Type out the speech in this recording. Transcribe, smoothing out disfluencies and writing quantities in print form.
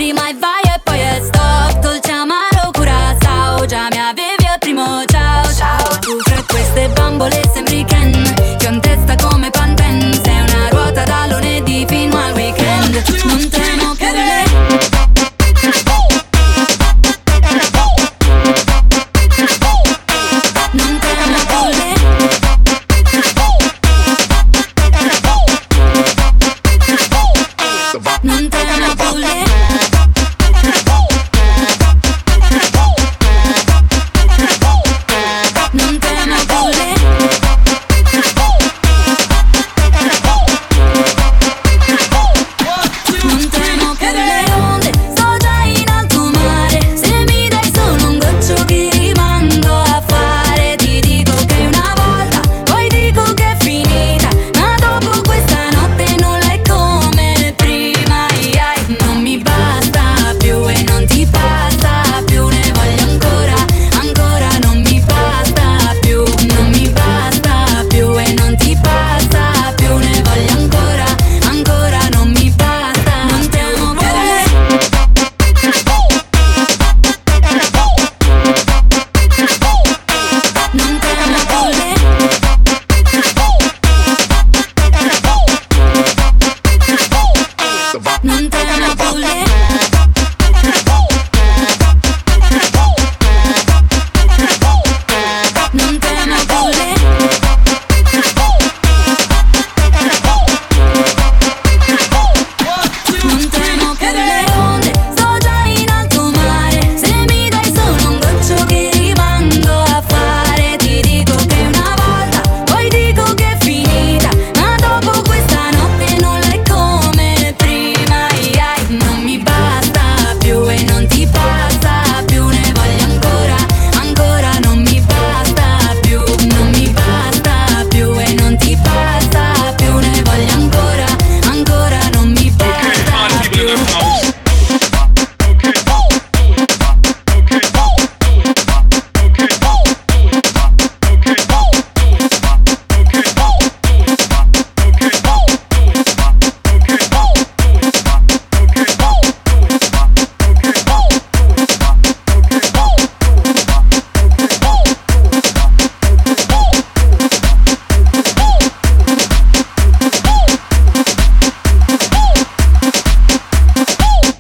prima e vai e poi è stop. Dolce amaro Curaçao, già mi avevi al primo ciao ciao. Tu fra queste bambole sembri Ken, che ho in testa come Pantene. Sei una ruota da lunedì fino al weekend. Non temo più le non temo più le non temo più le non temo più le non temo più le onde, sto già in alto mare. Se mi dai solo un goccio che rimando a fare. Ti dico che una volta, poi dico che è finita, ma dopo questa notte non è come prima. Non mi basta più e non ti basta più, ne voglio ancora, ancora. Non mi basta più, non mi basta più e non ti basta più, ne voglio ancora, ancora. Non mi basta, non temo più le non temo più le non temo più le